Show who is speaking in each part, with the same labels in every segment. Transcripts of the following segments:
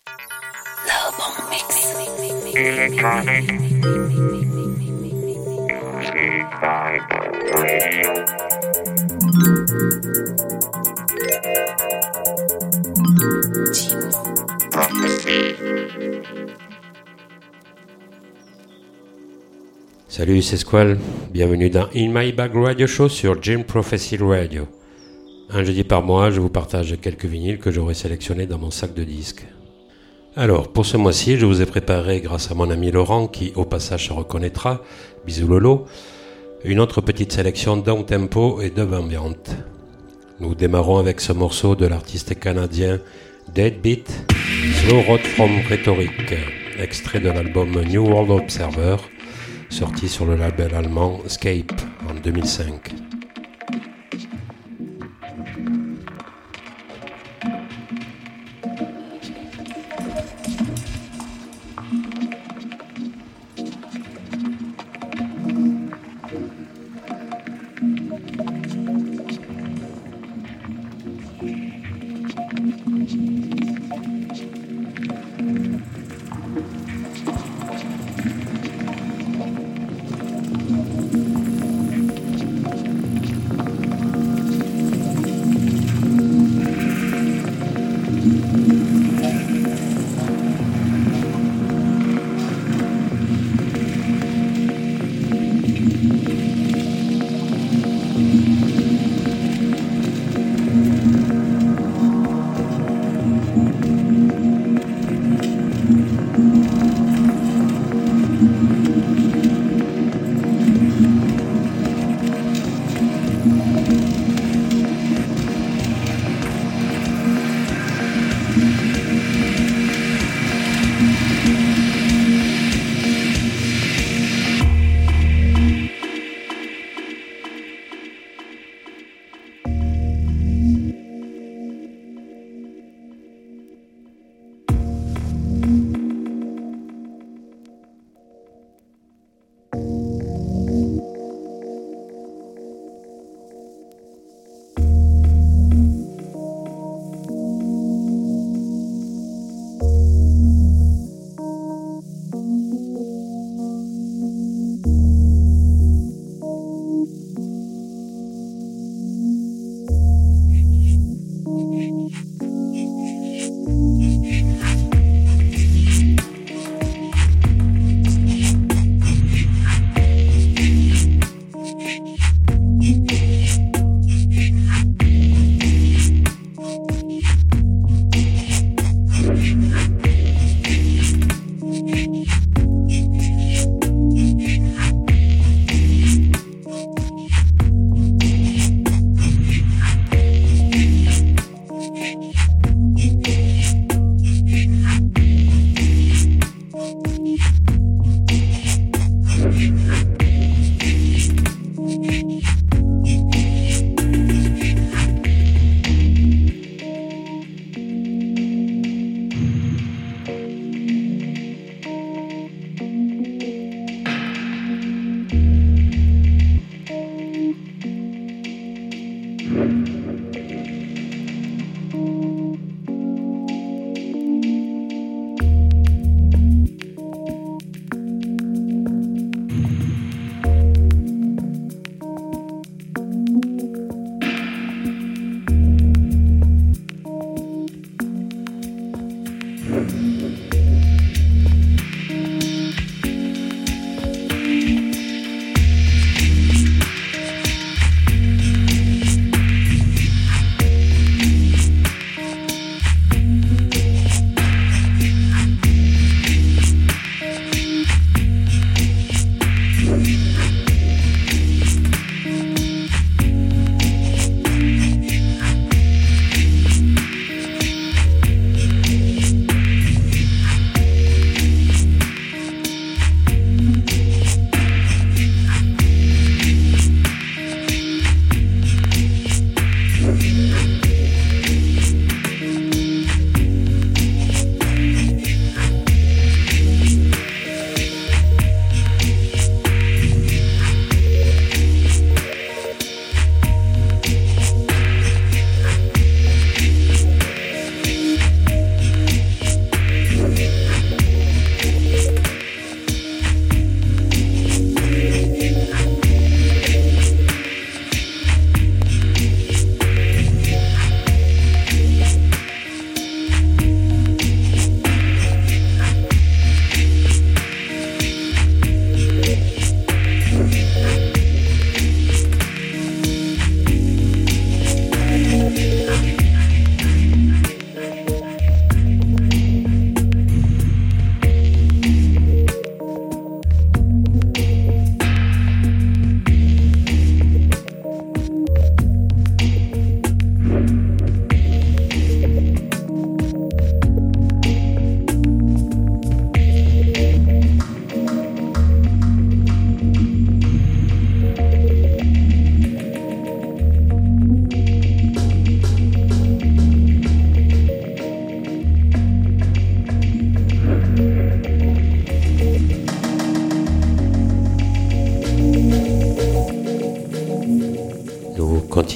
Speaker 1: Electronic Music Bible Radio. Prophecy.
Speaker 2: Salut, c'est Squall. Bienvenue dans In My Bag Radio Show sur Jim Prophecy Radio. Un jeudi par mois, je vous partage quelques vinyles que j'aurai sélectionnés dans mon sac de disques. Alors, pour ce mois-ci, je vous ai préparé, grâce à mon ami Laurent, qui au passage se reconnaîtra, bisous Lolo, une autre petite sélection down-tempo et dub ambiante. Nous démarrons avec ce morceau de l'artiste canadien Deadbeat, Slow Road from Rhetoric, extrait de l'album New World Observer, sorti sur le label allemand Escape en 2005.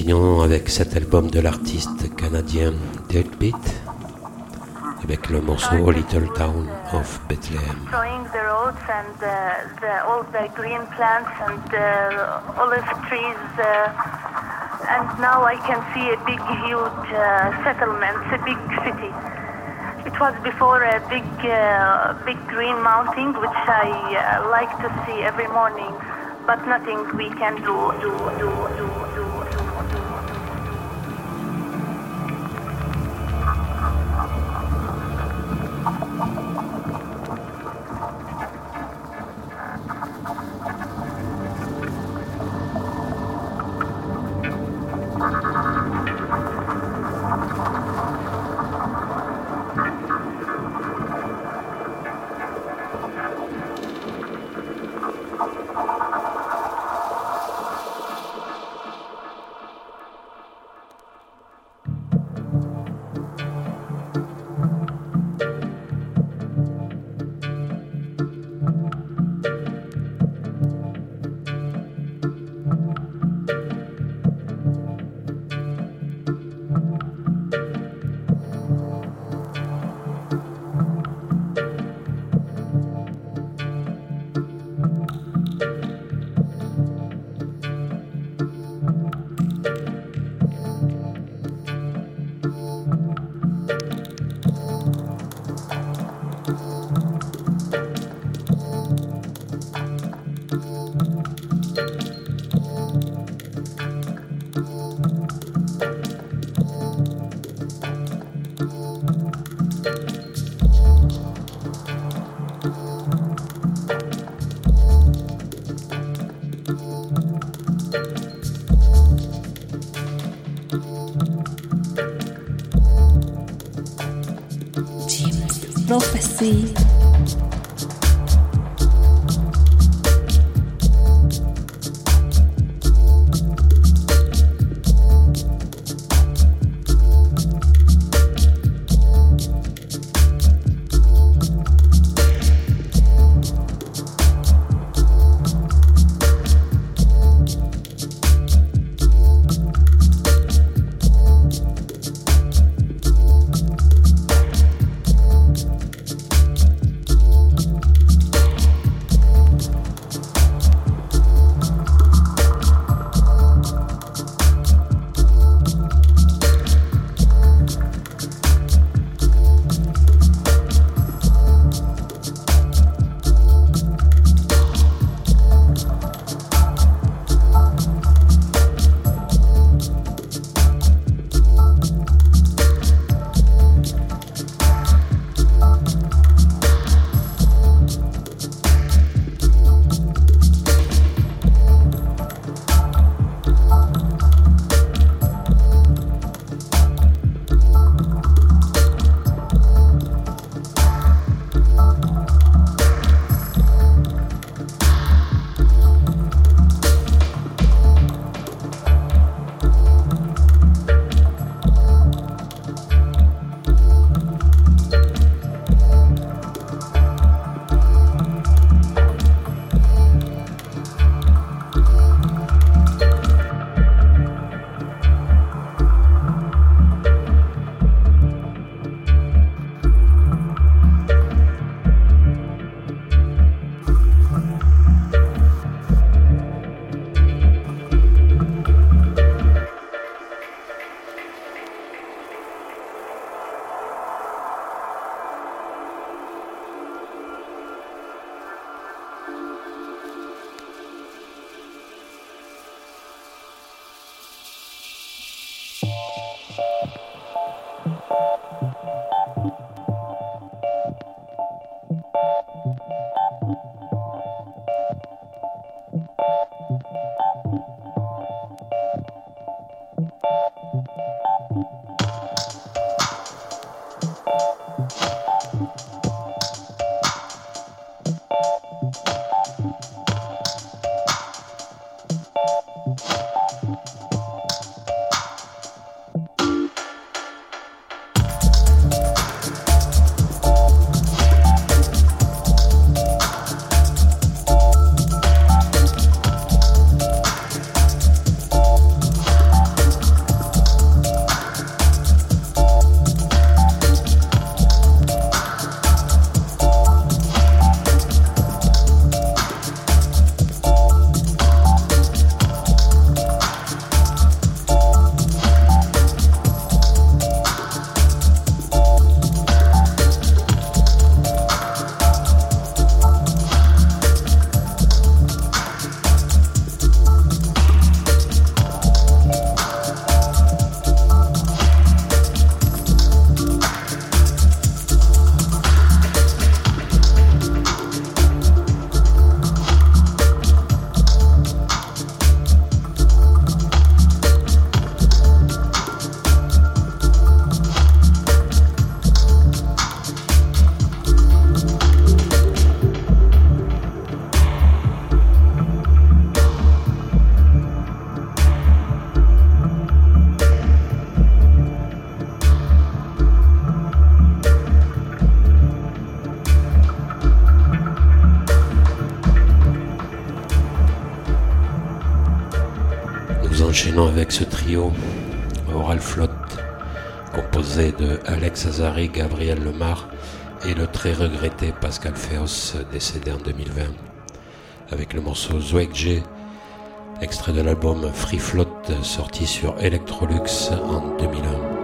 Speaker 2: continuons avec cet album de l'artiste canadien Deadbeat, avec le morceau A Little Town of Bethlehem.
Speaker 3: Showing the roads and all the green plants and olive trees, and now I can see a big, huge settlement, a big city. It was before a big green mountain, which I like to see every morning, but nothing we can do.
Speaker 4: Prophecy.
Speaker 2: enchaînons avec ce trio Oral Flotte, composé de Alex Azari, Gabriel Lemar et le très regretté Pascal Féos, décédé en 2020, avec le morceau Zweig, extrait de l'album Free Float, sorti sur Electrolux en 2001.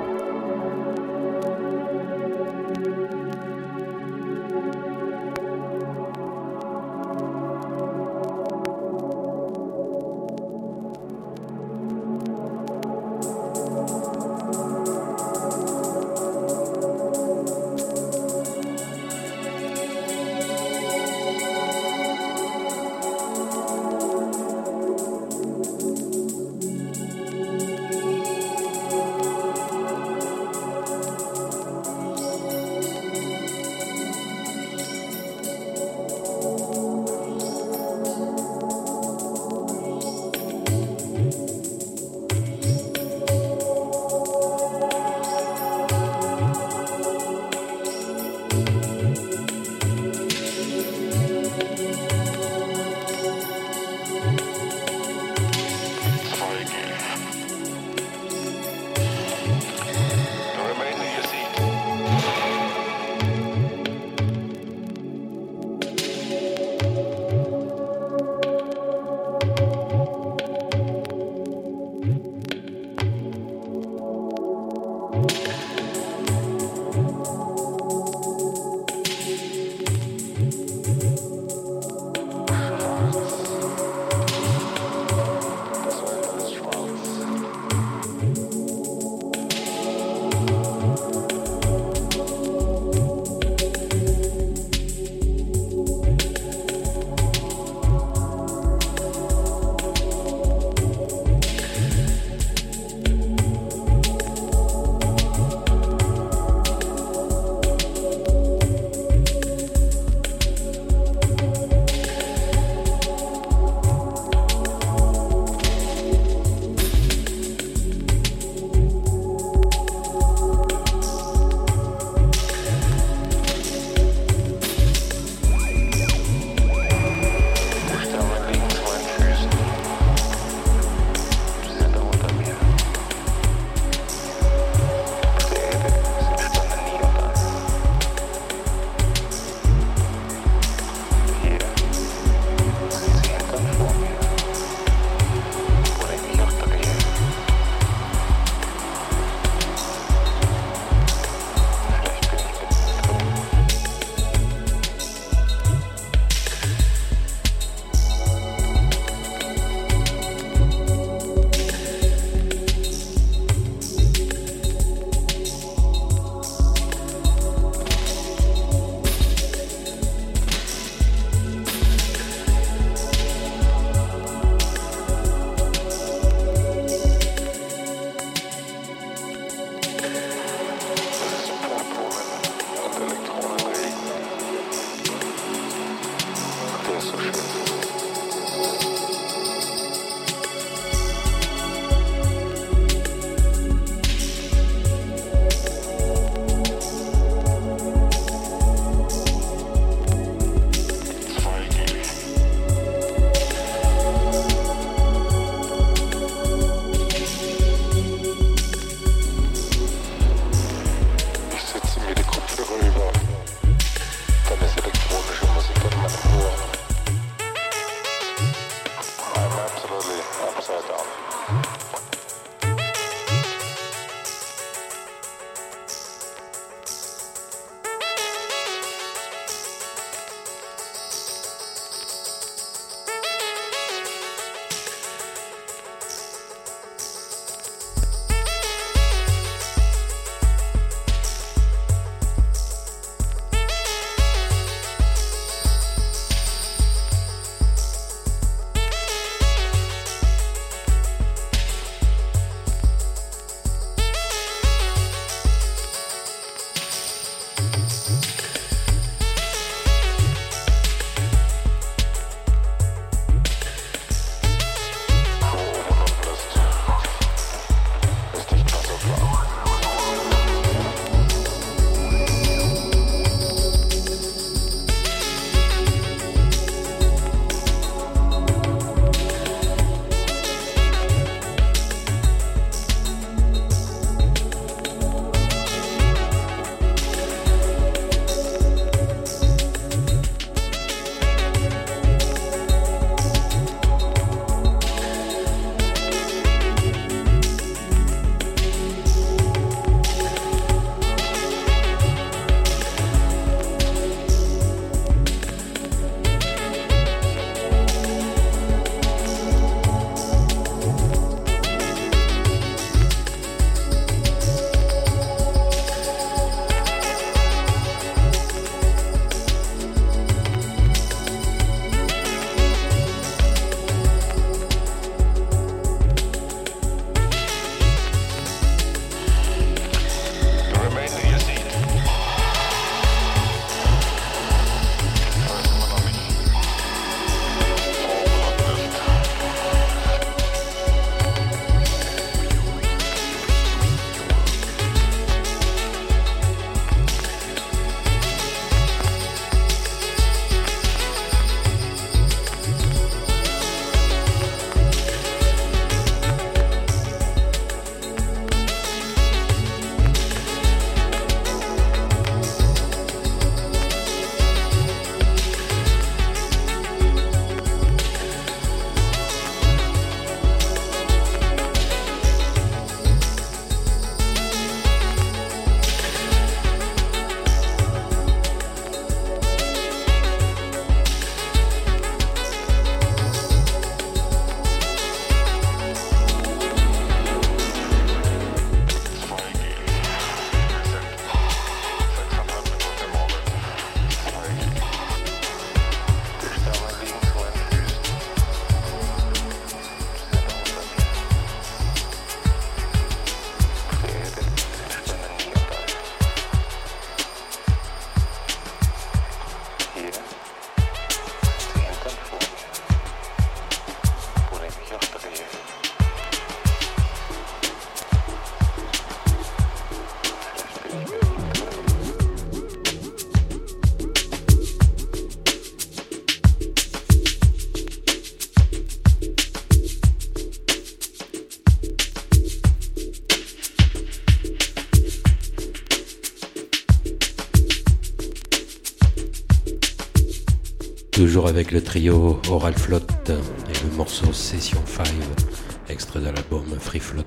Speaker 2: Toujours avec le trio Oral Float et le morceau Session 5, extrait de l'album Free Float.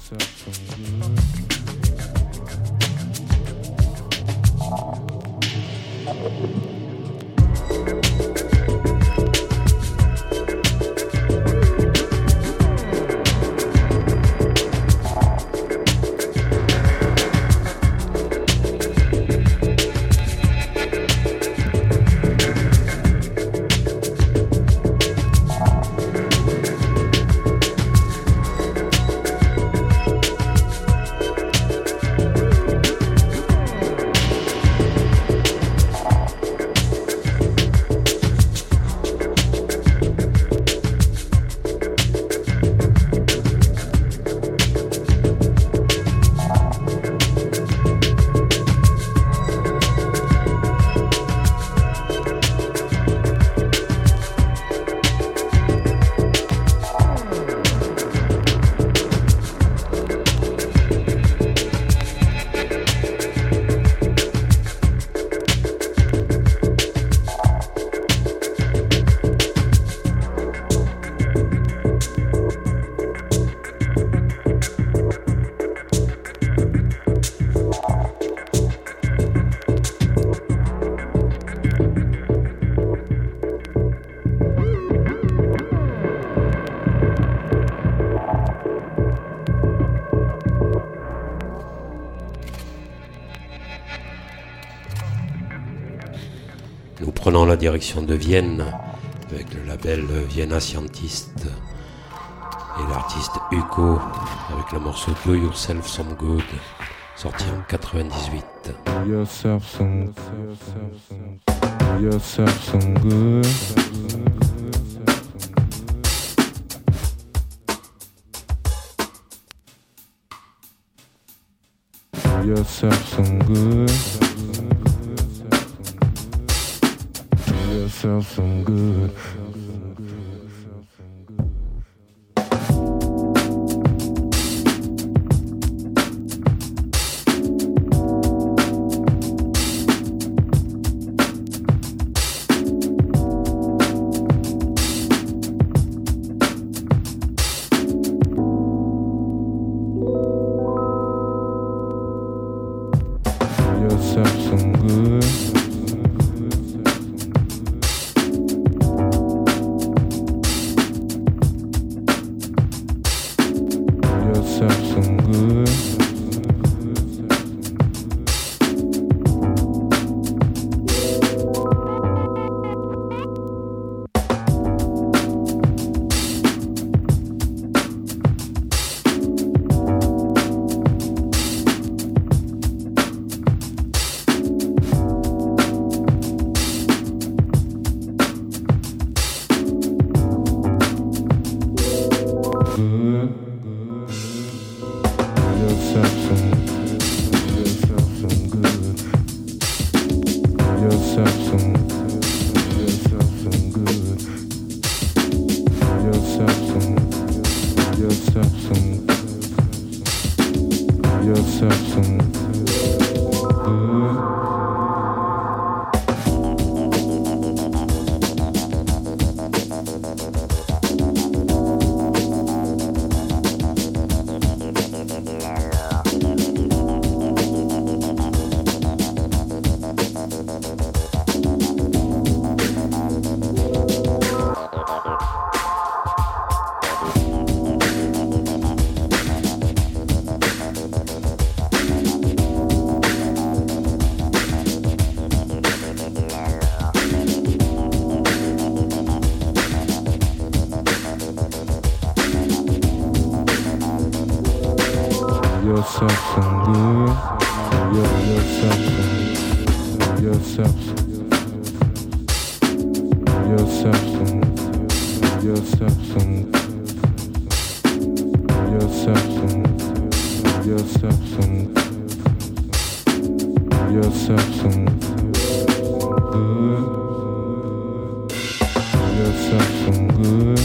Speaker 2: Nous prenons la direction de Vienne avec le label Vienna Scientist et l'artiste Hugo avec le morceau Do Yourself Some Good, sorti en 98.
Speaker 5: Do yourself some good. Do yourself some good. Do yourself some good. Yourself some good. Yourself some. Yourself some. Yourself some. Yourself some. Yourself some. Yourself some good. Yourself some good.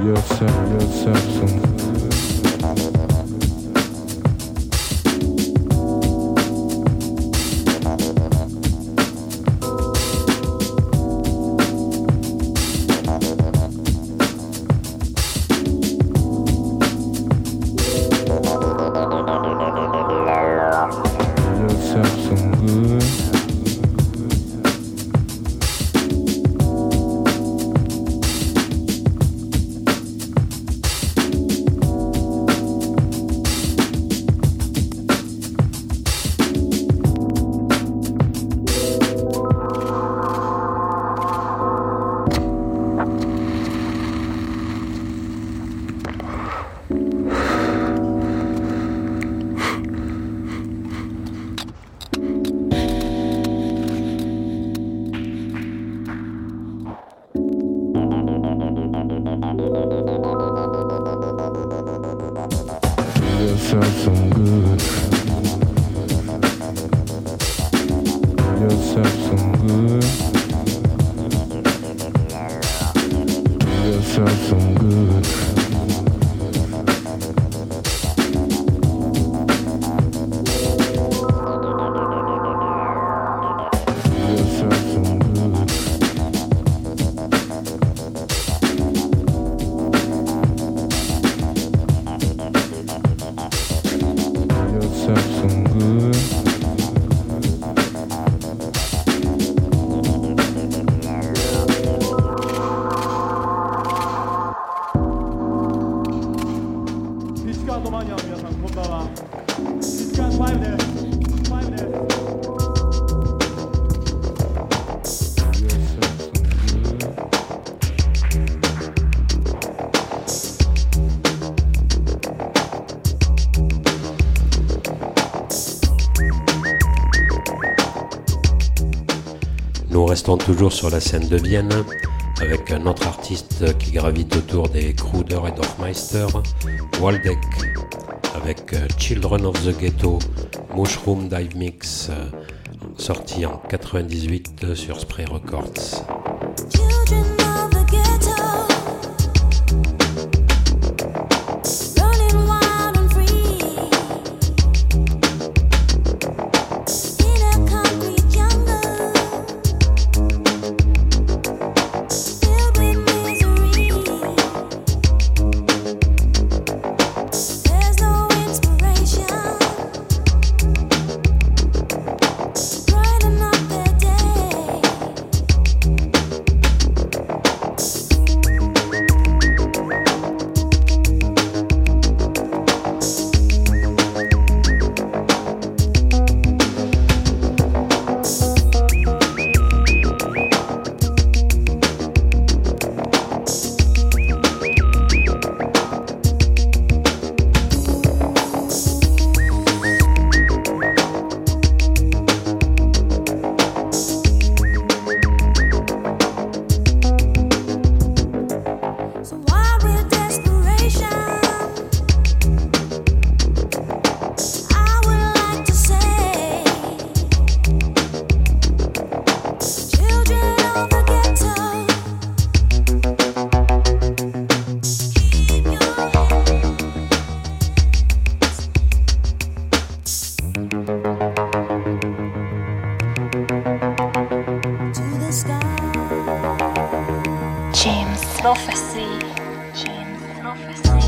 Speaker 5: yourself some good. Yourself some good. Yourself some good. Yourself some good. Yourself some good. Yourself some good.
Speaker 2: Nous restons toujours sur la scène de Vienne avec un autre artiste qui gravite autour des Kruder et Dorfmeister, Waldeck, avec Children of the Ghetto, Mushroom Dive Mix, sorti en 98 sur Spray Records.
Speaker 6: Children of the ghetto, running wild and free in a concrete jungle, filled with misery. There's no inspiration, brighten up their day. So wild with desperation, I would like to say, children of the ghetto, keep your hands to the sky.
Speaker 4: James Prophecy. James Prophecy.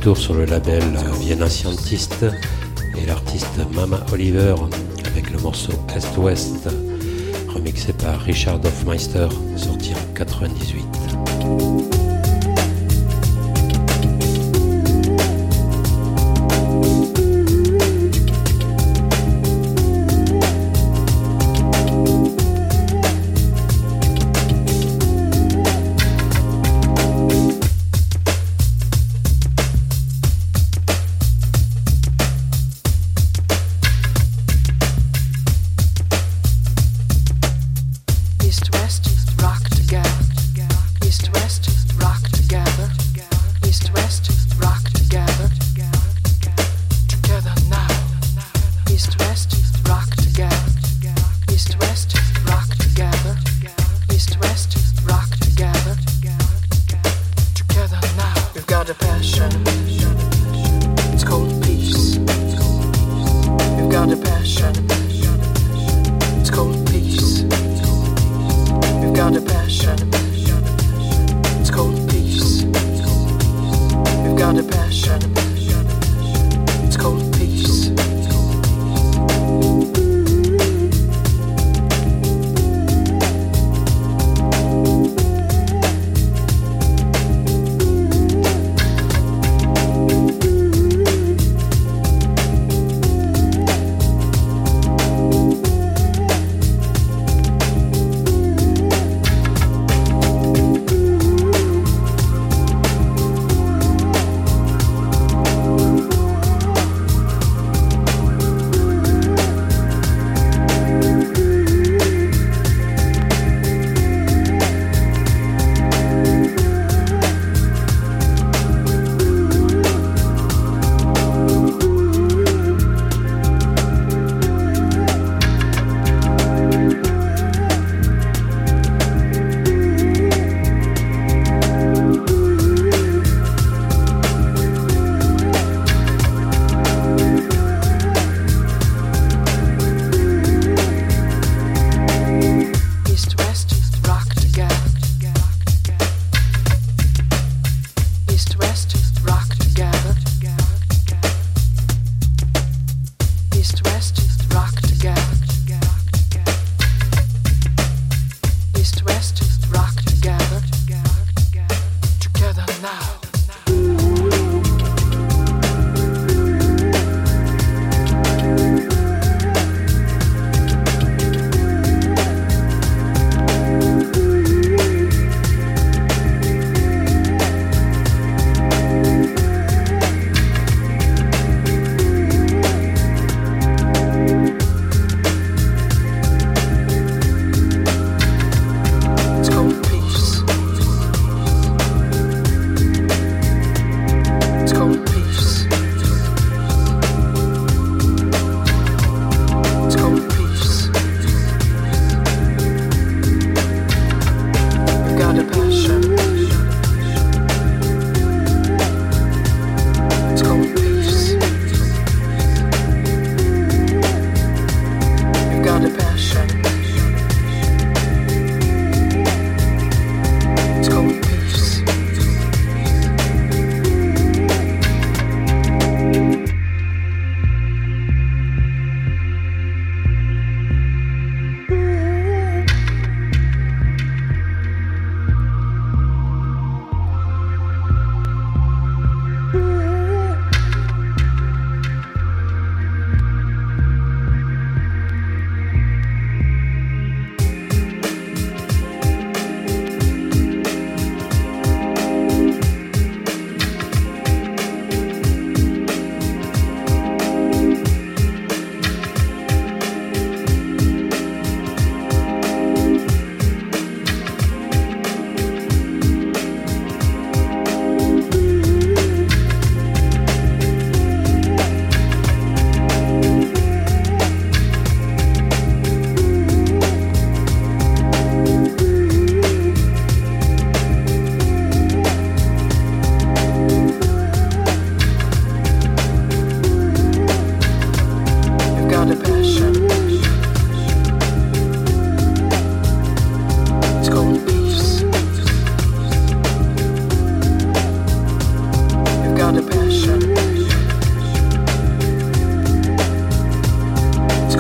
Speaker 2: retour sur le label Vienna Scientist et l'artiste Mama Oliver avec le morceau Est-Ouest remixé par Richard Hofmeister, sorti en 98.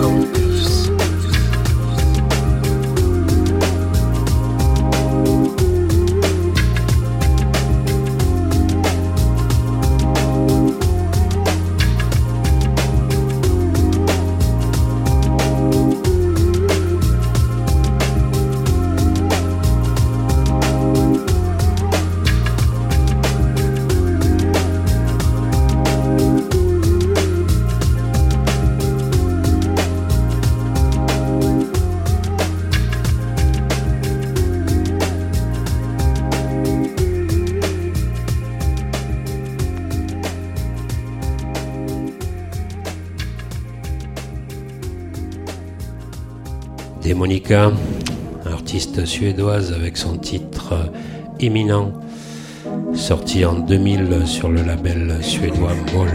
Speaker 2: Monica, artiste suédoise avec son titre Imminent, sorti en 2000 sur le label suédois Moll.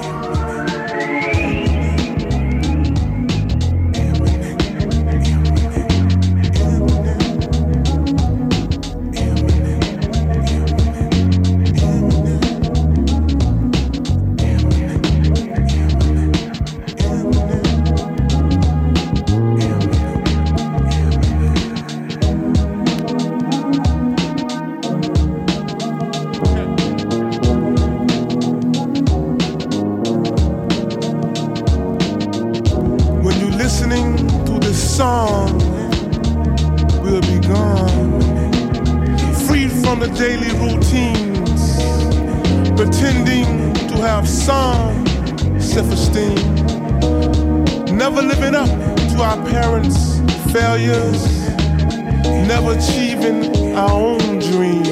Speaker 7: Never achieving our own dreams.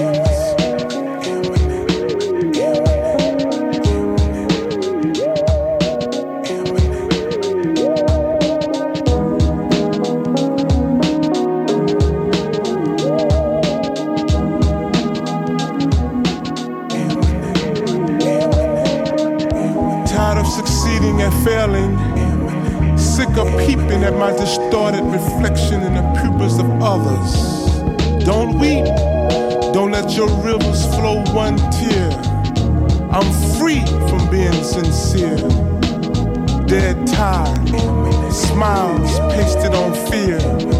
Speaker 7: Tired of succeeding and failing. Sick of peeping at my distorted reflection in the pupils of others. Don't weep, don't let your rivers flow one tear. I'm free from being sincere. Dead tired, smiles pasted on fear.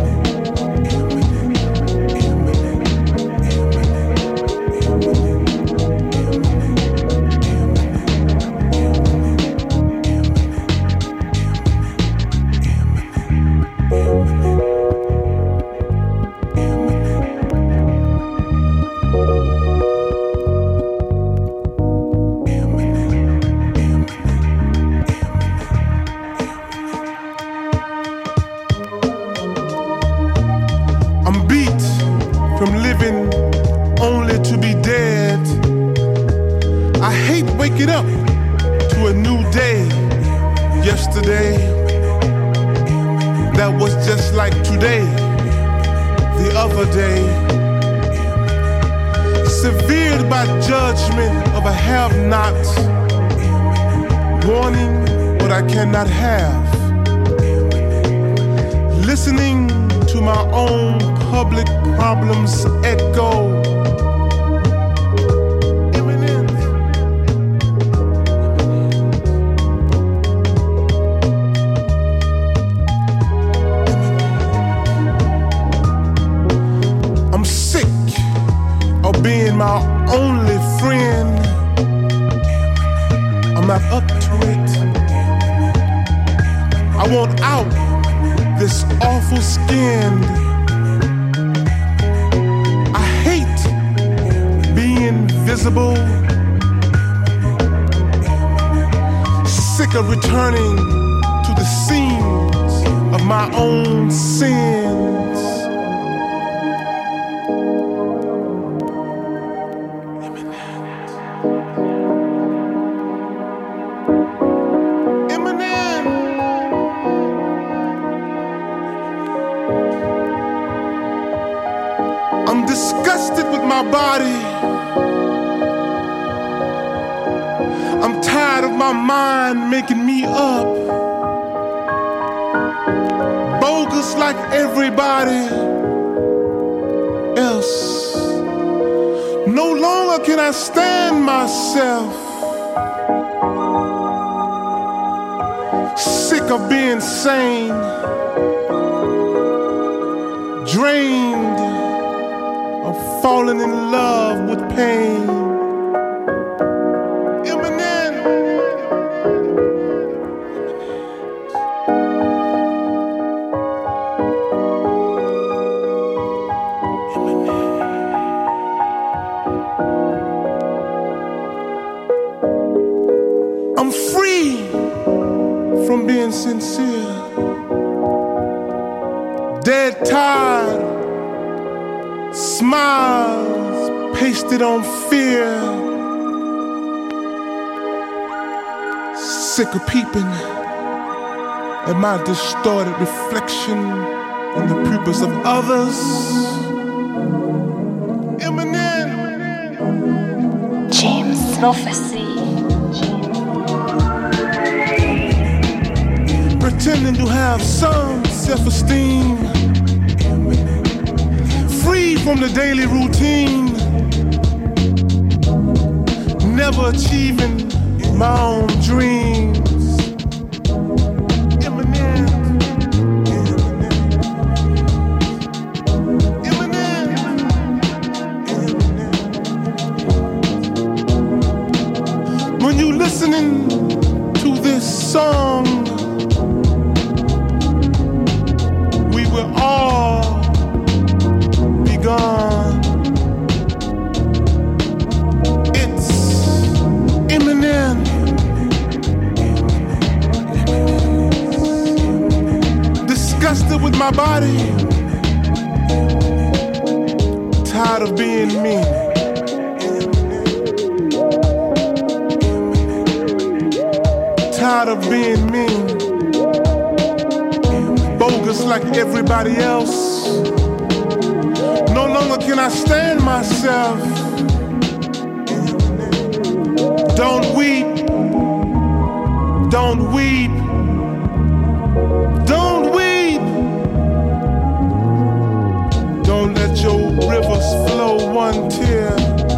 Speaker 7: Cannot have. Listening to my own public problems echo. I'm sick of being my only friend. I'm not up to it. I want out this awful skin. I hate being visible. Sick of returning to the scenes of my own sins. I'm disgusted with my body. I'm tired of my mind making me up. Bogus like everybody else. No longer can I stand myself. Sick of being sane, drained of falling in love with pain. Eminem. I'm free from being sincere, dead tired, smiles pasted on fear, sick of peeping at my distorted reflection in the pupils of others. Eminem.
Speaker 4: James Prophecy.
Speaker 7: Pretending to have some self-esteem, free from the daily routine, never achieving my own dreams. Eminem. Eminem. When you listening to this song, we'll all be gone. It's Eminem. Disgusted with my body, tired of being me. Tired of being mean, bogus like everybody else. No longer can I stand myself. Don't weep, don't weep, don't weep. Don't let your rivers flow one tear.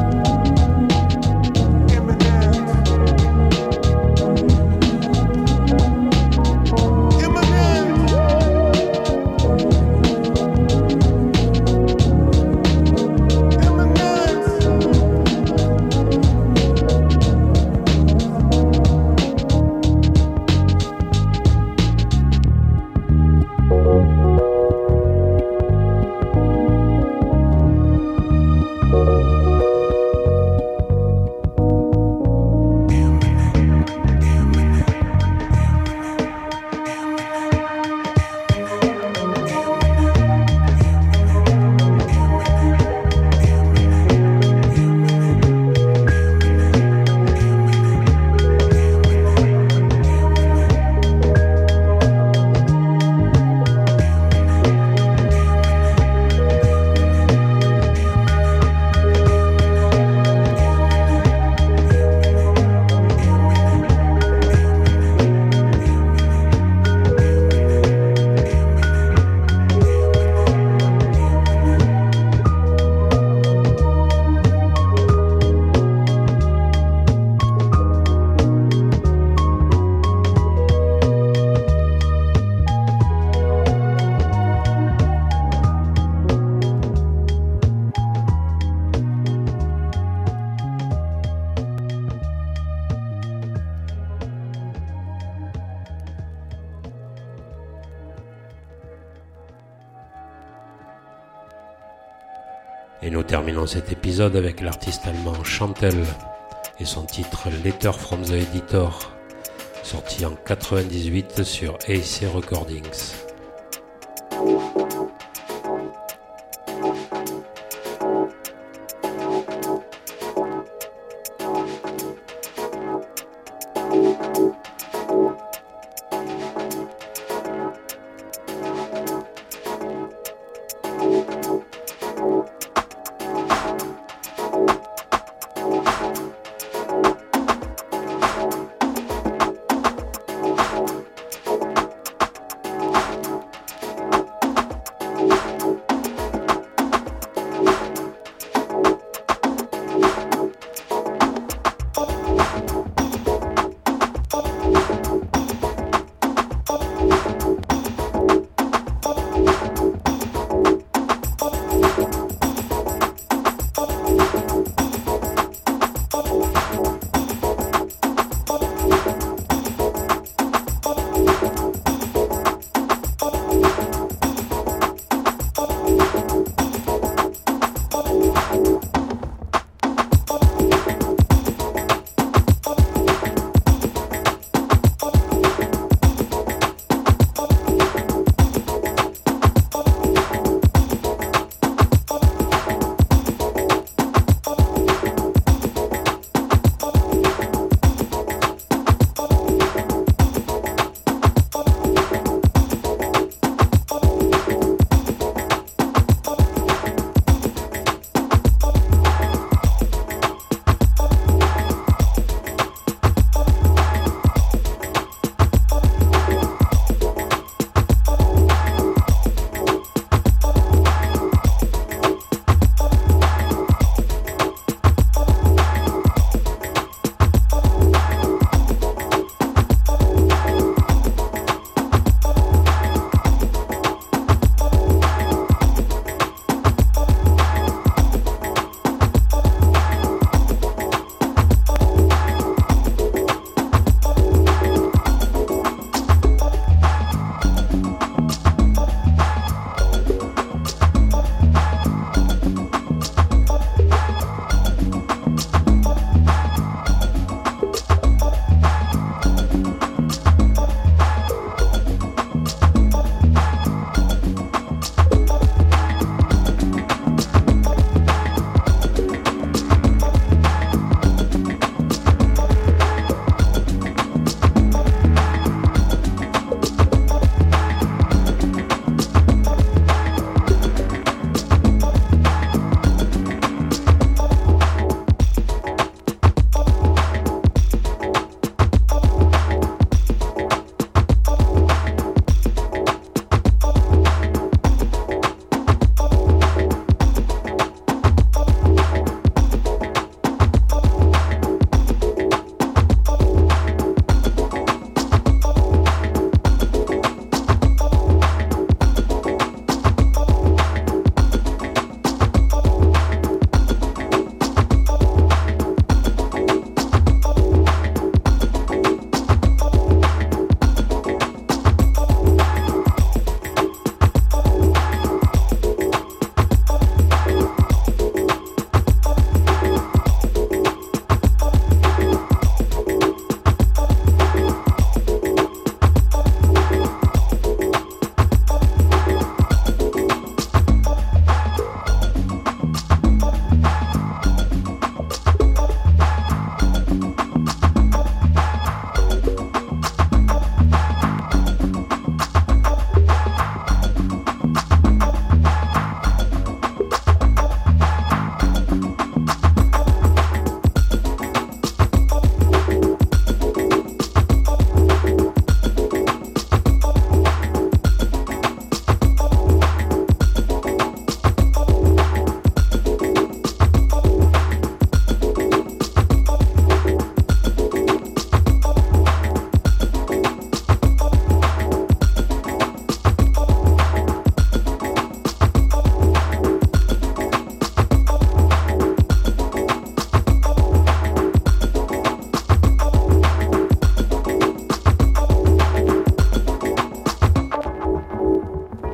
Speaker 2: Et nous terminons cet épisode avec l'artiste allemand Chantel et son titre Letter from the Editor, sorti en 98 sur AC Recordings.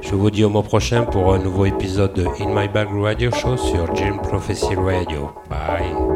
Speaker 2: Je vous dis au mois prochain pour un nouveau épisode de In My Bag Radio Show sur Dream Prophecy Radio. Bye.